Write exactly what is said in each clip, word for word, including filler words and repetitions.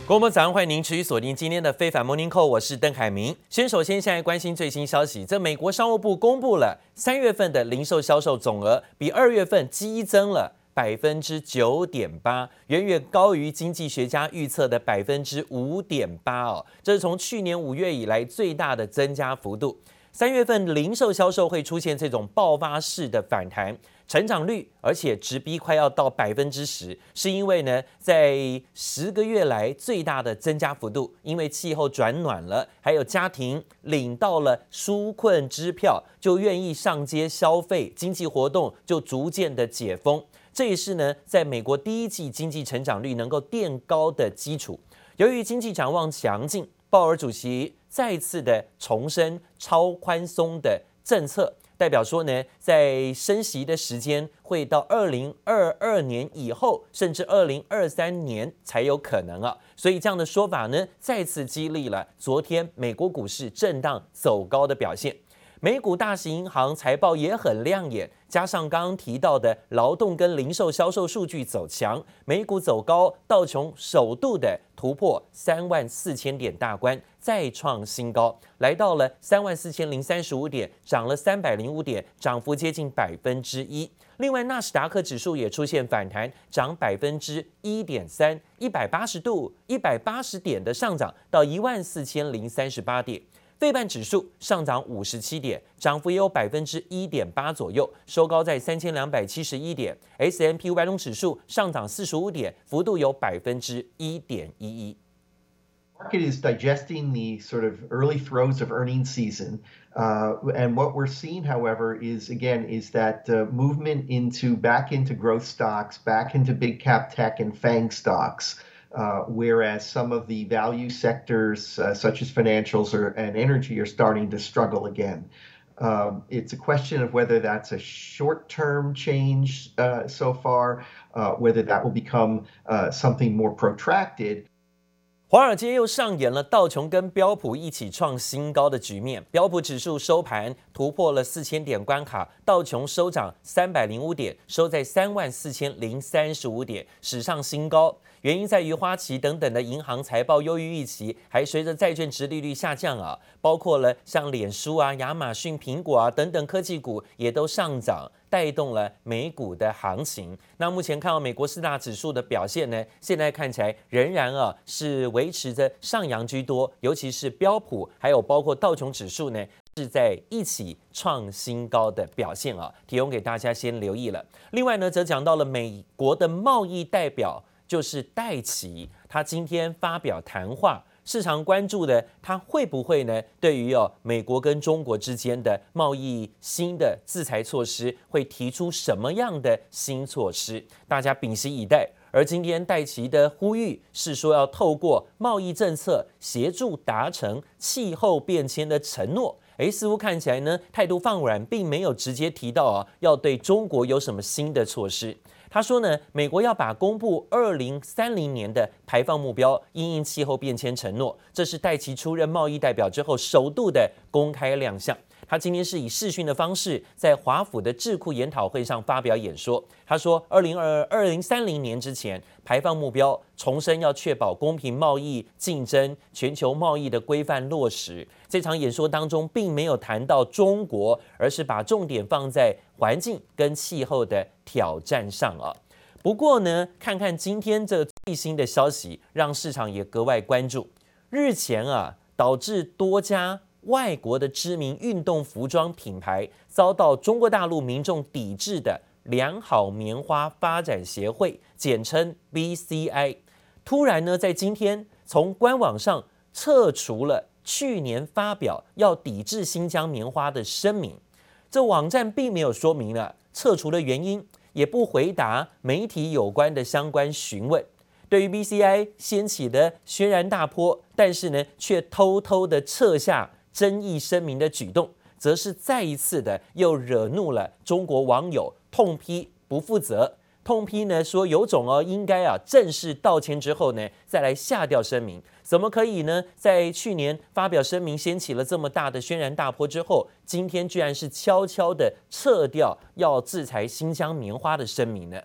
各位早上，歡迎您持續鎖定今天的非凡 Morning Call， 我是鄧凱明。先首先現在關心最新消息，這美國商務部公布了三月份的零售銷售總額比二月份激增了百分之九點八，遠遠高於經濟學家預測的百分之五點八哦，這是從去年五月以來最大的增加幅度。三月份零售銷售會出現這種爆發式的反彈。成長率，而且直逼快要到百分之十，是因為呢，在十個月來最大的增加幅度，因為氣候轉暖了，還有家庭領到了紓困支票，就願意上街消費，經濟活動就逐漸的解封。這也是呢，在美國第一季經濟成長率能夠墊高的基礎。由於經濟展望強勁，鮑爾主席再次的重申超寬鬆的政策。代表說呢，在升息的時間會到二零二二年以後，甚至二零二三年才有可能啊。所以這樣的說法呢，再次激勵了昨天美國股市震盪走高的表現。美股大型銀行財報也很亮眼，加上剛剛提到的勞動跟零售銷售數據走強，美股走高，道瓊首度的突破三萬四千點大關，再創新高，來到了三萬四千零三十五點，漲了三百零五點，漲幅接近百分之一。另外，納斯達克指數也出現反彈，漲百分之一點三，一百八十度、一百八十點的上漲到一萬四千零三十八點。費半指數上漲五十七點，漲幅也有百分之一點八左右，收高在三千兩百七十一點。S and P 五百種指數上漲四十五點，幅度有百分之一點一一。 Market is digesting the sort of early throes of earnings season, uh, and what we're seeing, however, is again is that uh, movement into back into growth stocks, back into big cap tech and FANG stocks. Uh, whereas some of the value sectors, uh, such as financials or, and energy, are starting to struggle again. Um, it's a question of whether that's a short-term change uh, so far, uh, whether that will become uh, something more protracted. 華爾街又上演了道瓊跟標普一起創新高的局面，標普指數收盤突破了四千點關卡，道瓊收漲三百零五點，收在三萬四千零三十五點，史上新高。原因在於花旗等等的銀行財報優於預期，還隨着債券殖利率下降啊，包括了像臉書啊、亞馬遜、蘋果啊等等科技股也都上漲，帶動了美股的行情。那目前看到美國四大指數的表現呢，現在看起來仍然啊是維持着上揚居多，尤其是標普還有包括道瓊指數呢，是在一起創新高的表現啊，提供給大家先留意了。另外呢，則講到了美國的貿易代表。就是戴琪，他今天發表談話，市場關注的他會不會呢？對於哦美國跟中國之間的貿易新的制裁措施，會提出什麼樣的新措施？大家屏息以待。而今天戴琪的呼籲是說，要透過貿易政策協助達成氣候變遷的承諾。誒，似乎看起來呢態度放軟，並沒有直接提到啊要對中國有什麼新的措施。他說呢，美國要把公布二零三零年的排放目標，因應氣候變遷承諾，這是戴琪出任貿易代表之後首度的公開亮相。他今天是以視訊的方式在華府的智庫研討會上發表演說。他說，二零二二零三零年之前，排放目標重申要確保公平貿易競爭、全球貿易的規範落實。這場演說當中並沒有談到中國，而是把重點放在環境跟氣候的挑戰上啊。不過呢，看看今天這最新的消息，讓市場也格外關注。日前啊，導致多家外國的知名運動服裝品牌遭到中國大陸民眾抵制的良好棉花發展協會，簡稱 B C I， 突然呢，在今天從官網上撤除了去年發表要抵制新疆棉花的聲明。這網站並沒有說明了撤除的原因，也不回答媒體有關的相關詢問。對於 B C I 掀起的軒然大波，但是呢，卻偷偷的撤下爭議聲明的舉動，則是再一次的又惹怒了中國網友，痛批不負責，痛批呢說有種哦，應該啊正式道歉之後呢，再來下調聲明，怎麼可以呢？在去年發表聲明掀起了這麼大的軒然大波之後，今天居然是悄悄的撤掉要制裁新疆棉花的聲明呢？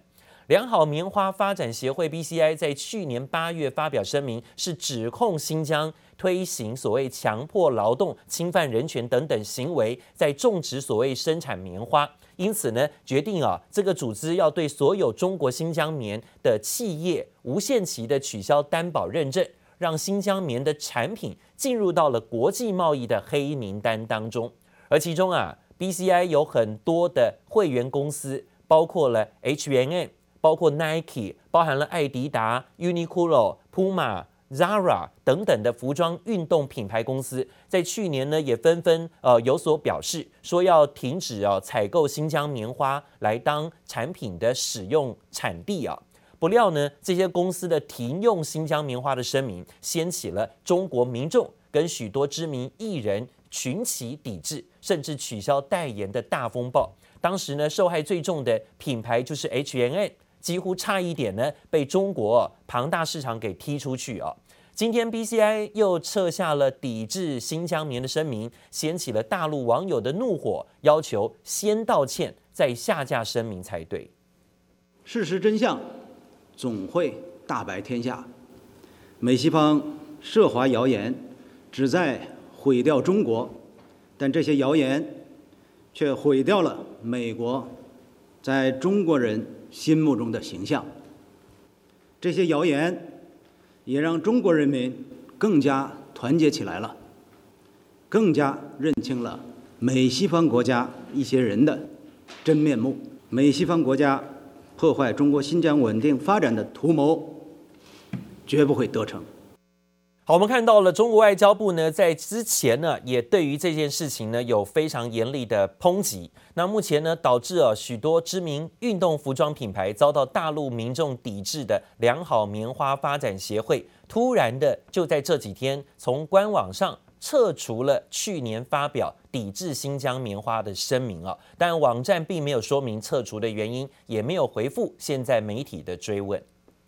良好棉花發展協會 B C I 在去年八月發表聲明，是指控新疆推行所謂強迫勞動、侵犯人權等等行為，在種植所謂生產棉花。因此呢，決定啊，這個組織要對所有中國新疆棉的企業無限期的取消擔保認證，讓新疆棉的產品進入到了國際貿易的黑名單當中。而其中啊 ，B C I 有很多的會員公司，包括了 H and M， 包括 Nike， 包含了艾迪達、Uniqlo、Puma、Zara 等等的服裝運動品牌公司，在去年呢也紛紛呃有所表示，說要停止啊採購新疆棉花來當產品的使用產地啊。不料呢，這些公司的停用新疆棉花的聲明，掀起了中國民眾跟許多知名藝人群起抵制，甚至取消代言的大風暴。當時呢，受害最重的品牌就是 H and M， 幾乎差一點呢被中國龐大市場給踢出去啊。今天 B C I 又撤下了抵制新疆棉的聲明，掀起了大陸網友的怒火，要求先道歉再下架聲明才對。 事實真相總會大白天下。美西方涉華謠言旨在毀掉中國，但這些謠言卻毀掉了美國在中國人心目中的形象。這些謠言也讓中國人民更加團結起來了，更加認清了美西方國家一些人的真面目。美西方國家破壞中國新疆穩定發展的圖謀，絕不會得逞。 好，我們看到了中國外交部呢，在之前呢，也對於這件事情呢有非常嚴厲的抨擊。那目前呢，導致啊許多知名運動服裝品牌遭到大陸民眾抵制的良好棉花發展協會，突然的就在這幾天從官網上撤除了去年發表抵制新疆棉花的聲明啊，但網站並沒有說明撤除的原因，也沒有回復現在媒體的追問。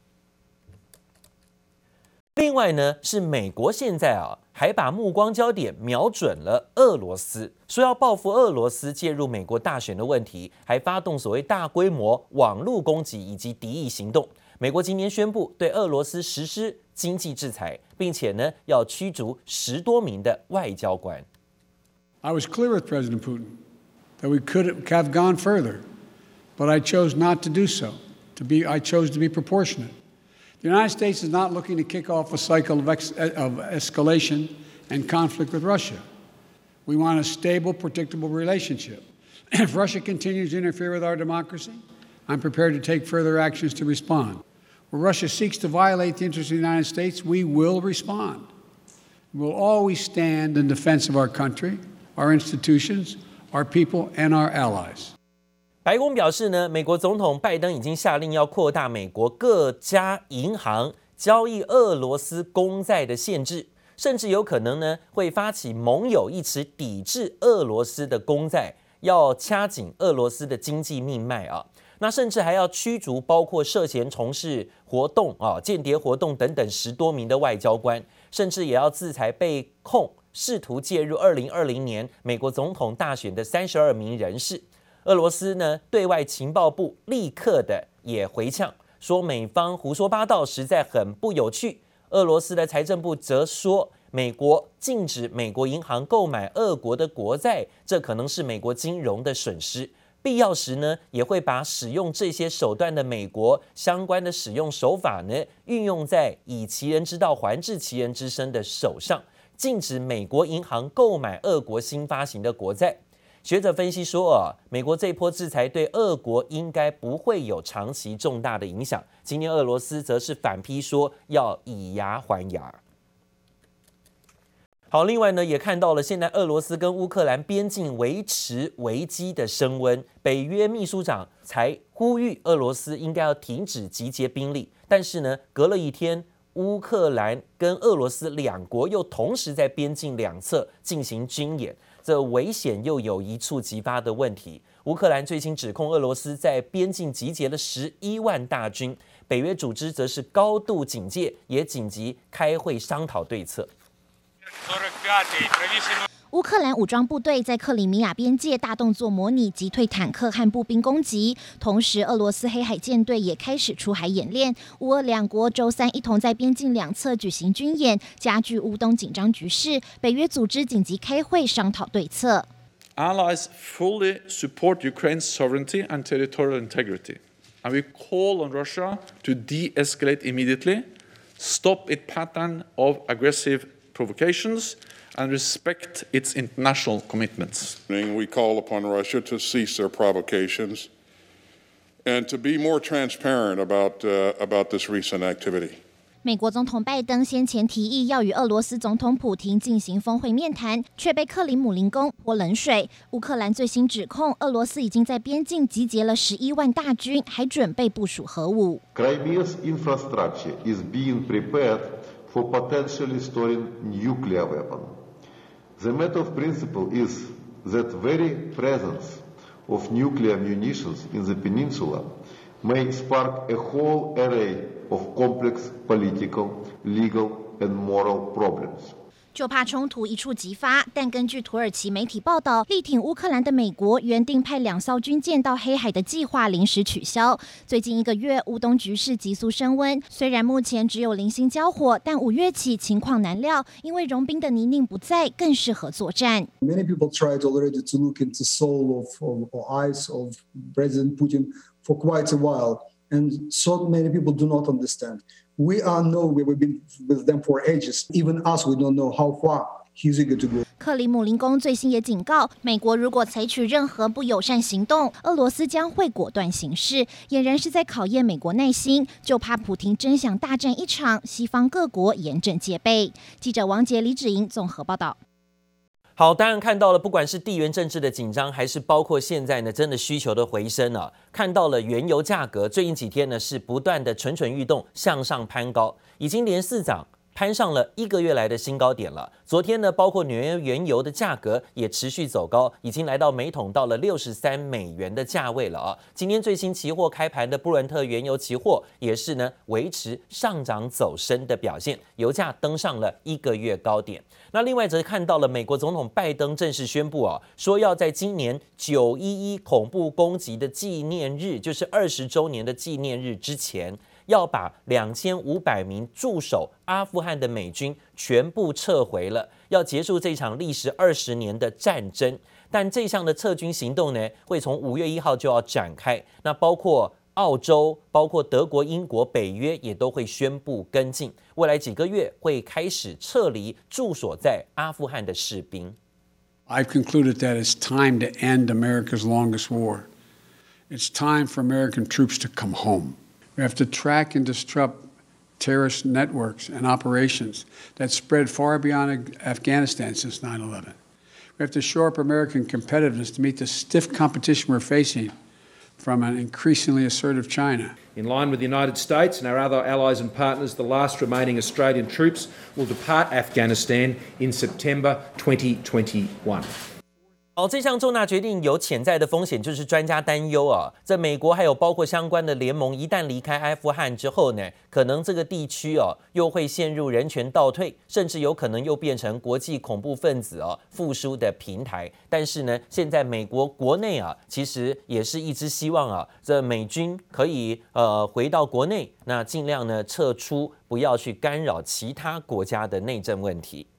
另外呢，是美國現在啊，還把目光焦點瞄準了俄羅斯，說要報復俄羅斯介入美國大選的問題，還發動所謂大規模網絡攻擊以及敵意行動。美國今年宣布對俄羅斯實施經濟制裁，並且呢，要驅逐十多名的外交官。 I was clear with President Putin that we could have gone further, but I chose not to do so. To be, I chose to be proportionate. The United States is not looking to kick off a cycle of, ex, of escalation and conflict with Russia. We want a stable, predictable relationship. If Russia continues to interfere with our democracy, I'm prepared to take further actions to respond. Where Russia seeks to violate the interests of the United States, we will respond. We'll always stand in defense of our country, our institutions, our people, and our allies. 白宮表示呢，美國總統拜登已經下令要擴大美國各家銀行交易俄羅斯公債的限制，甚至有可能呢會發起盟友一起抵制俄羅斯的公債，要掐緊俄羅斯的經濟命脈啊。那甚至還要驅逐包括涉嫌從事活動啊、間諜活動等等十多名的外交官，甚至也要制裁被控試圖介入二零二零年美國總統大選的三十二名人士。俄羅斯呢，對外情報部立刻的也回嗆，說美方胡說八道，實在很不有趣。俄羅斯的財政部則說，美國禁止美國銀行購買俄國的國債，這可能是美國金融的損失。必要時呢，也會把使用這些手段的美國相關的使用手法呢，運用在以其人之道還治其人之身的手上，禁止美國銀行購買俄國新發行的國債。學者分析說啊，美國這波制裁對俄國應該不會有長期重大的影響。今天俄羅斯則是反批說要以牙還牙。好，另外呢，也看到了現在俄羅斯跟烏克蘭邊境維持危機的升溫，北約秘書長才呼籲俄羅斯應該要停止集結兵力，但是呢，隔了一天，烏克蘭跟俄羅斯兩國又同時在邊境兩側進行軍演。這危險又有一觸即發的問題。烏克蘭最新指控俄羅斯在邊境集結了十一萬大軍，北約組織則是高度警戒，也緊急開會商討對策。 烏克蘭武裝部隊在克里米亞邊界大動作模擬擊退坦克和步兵攻擊，同時俄羅斯黑海艦隊也開始出海演練。烏俄兩國週三一同在邊境兩側舉行軍演，加劇烏東緊張局勢。北約組織緊急開會商討對策。 Allies fully support Ukraine's sovereignty and territorial integrity, and we call on Russia to de-escalate immediately, stop its pattern of aggressive provocations, and respect its international commitments. We call upon Russia to cease their provocations and to be more transparent about, uh, about this recent activity. 美國總統拜登先前提議要與俄羅斯總統普亭進行峰會面談，卻被克里姆林宮潑冷水。烏克蘭最新指控，俄羅斯已經在邊境集結了十一萬大軍，還準備部署核武。 Crimea's infrastructure is being prepared for potentially storing nuclear weapons. The matter of principle is that very presence of nuclear munitions in the peninsula may spark a whole array of complex political, legal, and moral problems. 就怕衝突一觸即發，但根據土耳其媒體報道，力挺烏克蘭的美國原定派兩艘軍艦到黑海的計劃臨時取消。最近一個月，烏東局勢急速升溫，雖然目前只有零星交火，但五月起情況難料，因為融冰的泥濘不在，更適合作戰。 Many people tried already to look into soul of, of or eyes of President Putin for quite a while, and so many people do not understand. We are know we've been with them for ages. Even us, we don't know how far he's eager to go. 克里姆林宮最新也警告，美國如果採取任何不友善行動，俄羅斯將會果斷行事，儼然是在考驗美國耐心。就怕普亭真想大戰一場，西方各國嚴陣戒備。記者王杰、李芷瑩綜合報道。 好，當然看到了，不管是地緣政治的緊張，還是包括現在呢，真的需求的回升啊，看到了原油價格最近幾天呢是不斷的蠢蠢欲動，向上攀高，已經連四漲。攀上了一個月來的新高點了。昨天呢，包括紐約原油的價格也持續走高，已經來到每桶到了六十三美元的價位了啊。今天最新期貨開盤的布倫特原油期貨也是呢維持上漲走升的表現，油價登上了一個月高點。那另外則看到了美國總統拜登正式宣布啊，說要在今年九一一恐怖攻擊的紀念日，就是二十週年的紀念日之前，要把兩千五百名駐守阿富汗的美軍全部撤回了，要結束這場歷時二十年的戰爭。但這項的撤軍行動呢，會從五月一號就要展開。那包括澳洲、包括德國、英國、北約也都會宣布跟進，未來幾個月會開始撤離駐守在阿富汗的士兵。 I've concluded that it's time to end America's longest war. It's time for American troops to come home. We have to track and disrupt terrorist networks and operations that spread far beyond Afghanistan since nine eleven. We have to shore up American competitiveness to meet the stiff competition we're facing from an increasingly assertive China. In line with the United States and our other allies and partners, the last remaining Australian troops will depart Afghanistan in September twenty twenty-one. 好，這項重大決定有潛在的風險，就是專家擔憂啊，在美國還有包括相關的聯盟一旦離開阿富汗之後呢，可能這個地區哦又會陷入人權倒退，甚至有可能又變成國際恐怖分子哦復甦的平台。但是呢，現在美國國內啊，其實也是一直希望啊，這美軍可以呃回到國內，那盡量呢撤出，不要去干擾其他國家的內政問題。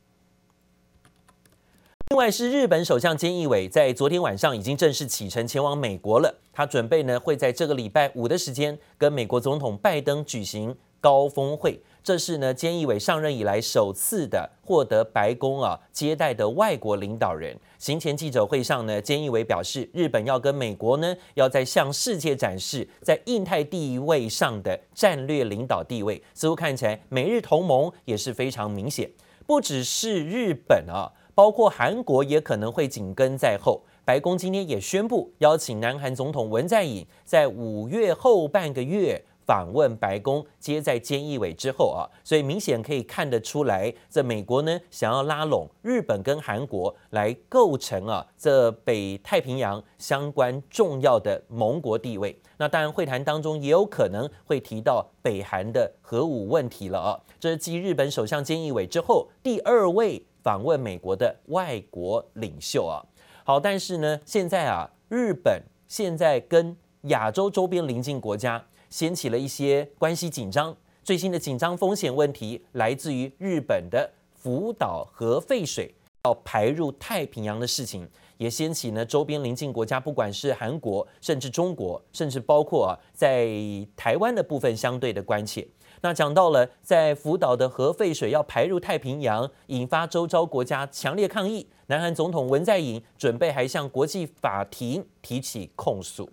另外是日本首相菅義偉在昨天晚上已經正式啟程前往美國了，他準備呢會在這個禮拜五的時間跟美國總統拜登舉行高峰會，這是呢菅義偉上任以來首次的獲得白宮啊接待的外國領導人。行前記者會上呢，菅義偉表示，日本要跟美國呢要在向世界展示在印太地位上的戰略領導地位，似乎看起來美日同盟也是非常明顯，不只是日本啊。包括韓國也可能會緊跟在後。白宮今天也宣布邀請南韓總統文在寅在五月後半個月訪問白宮，接在菅義偉之後啊，所以明顯可以看得出來，這美國呢想要拉攏日本跟韓國來構成啊這北太平洋相關重要的盟國地位。那當然會談當中也有可能會提到北韓的核武問題了啊，這是繼日本首相菅義偉之後第二位訪問美國的外國領袖啊。好，但是呢，現在啊，日本現在跟亞洲周邊鄰近國家掀起了一些關係緊張。最新的緊張風險問題來自於日本的福島核廢水要排入太平洋的事情，也掀起呢周邊鄰近國家，不管是韓國，甚至中國，甚至包括啊在台灣的部分相對的關切。那講到了在福島的核廢水要排入太平洋，引發周遭國家強烈抗議。南韓總統文在寅準備還向國際法庭提起控訴。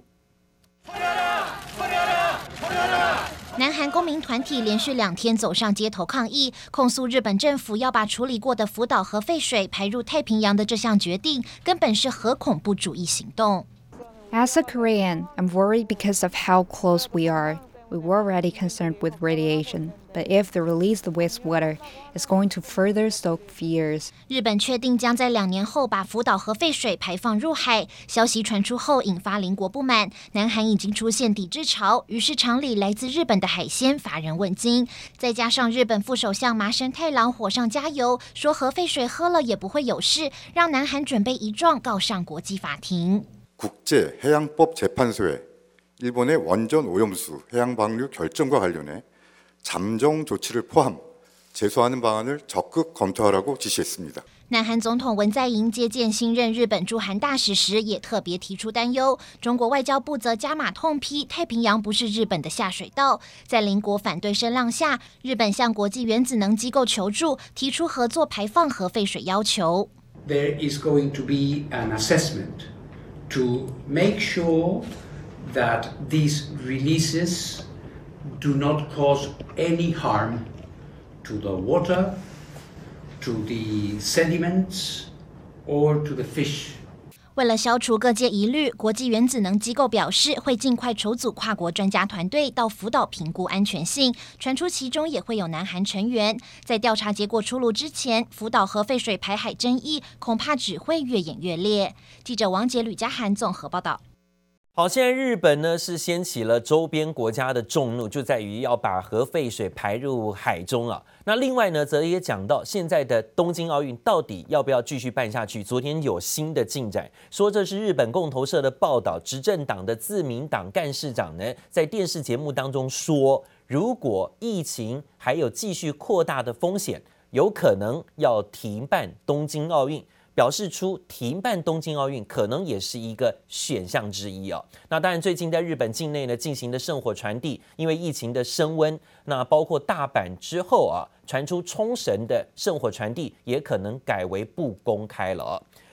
南韓公民團體連續兩天走上街頭抗議，控訴日本政府要把處理過的福島核廢水排入太平洋的這項決定，根本是核恐怖主義行動。 As a Korean, I'm worried because of how close we are. We were already concerned with radiation, but if the released wastewater is going to further stoke fears. 日本確定將在兩年後把福島核廢水排放入海，消息傳出後引發鄰國不滿，南韓已經出現抵制潮，魚市場裡來自日本的海鮮乏人問津。再加上日本副首相麻生太郎火上加油，說核廢水喝了也不會有事，讓南韓準備一狀告上國際法庭。 국제해양법재판소에 일본의 원전 오염수 해양 방류 결정과 관련해 잠정 조치를 포함 제소하는 방안을 적극 검토하라고 지시했습니다. 南韓總統文在寅接見新任日本駐韓大使時，也特別提出擔憂。中國外交部則加碼痛批太平洋不是日本的下水道。在鄰國反對聲浪下，日本向國際原子能機構求助，提出合作排放核廢水要求。 There is going to be an assessment to make sure that these releases do not cause any harm to the water, to the sediments, or to the fish. 為了消除各界疑慮，國際原子能機構表示會盡快籌組跨國專家團隊到福島評估安全性，傳出其中也會有南韓成員。在調查結果出爐之前，福島核廢水排海爭議恐怕只會越演越烈。記者王杰、呂嘉涵綜合報道。 好，現在日本呢是掀起了周邊國家的眾怒，就在於要把核廢水排入海中啊。那另外呢，則也講到現在的東京奧運到底要不要繼續辦下去？昨天有新的進展，說這是日本共同社的報道，執政黨的自民黨幹事長呢在電視節目當中說，如果疫情還有繼續擴大的風險，有可能要停辦東京奧運。表示出停辦東京奧運可能也是一個選項之一哦。那當然，最近在日本境內呢進行的聖火傳遞，因為疫情的升溫，那包括大阪之後啊，傳出沖繩的聖火傳遞也可能改為不公開了哦。